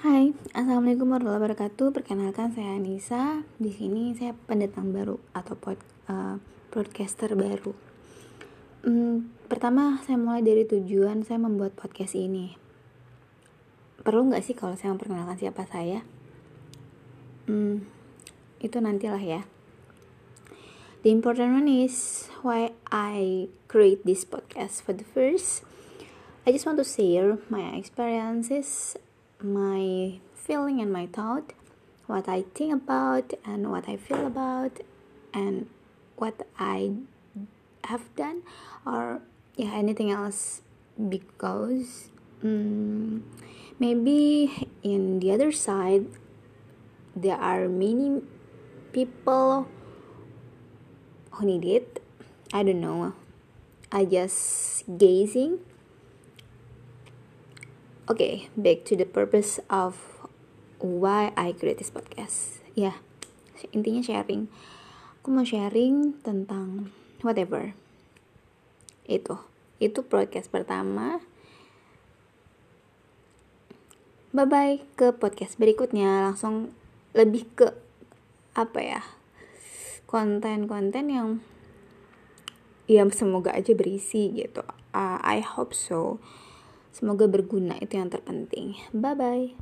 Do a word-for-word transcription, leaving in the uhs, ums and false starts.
Hai, assalamualaikum warahmatullahi wabarakatuh. Perkenalkan saya Anissa. Di sini saya pendatang baru atau pod, uh, podcaster baru. Hmm, pertama saya mulai dari tujuan saya membuat podcast ini. Perlu nggak sih kalau saya memperkenalkan siapa saya? Hmm, itu nantilah ya. The important one is why I create this podcast. For the first, I just want to share my experiences, my feeling and my thought, what I think about and what I feel about, and what I have done, or yeah, anything else. Because um, maybe in the other side there are many people who need it. I don't know. I just gazing. Okay, back to the purpose of why I create this podcast. Ya, yeah, intinya sharing. Aku mau sharing tentang whatever. Itu, itu podcast pertama. Bye bye ke podcast berikutnya. Langsung lebih ke apa ya? Konten-konten yang ya semoga aja berisi gitu. Uh, I hope so. Semoga berguna, itu yang terpenting. Bye bye.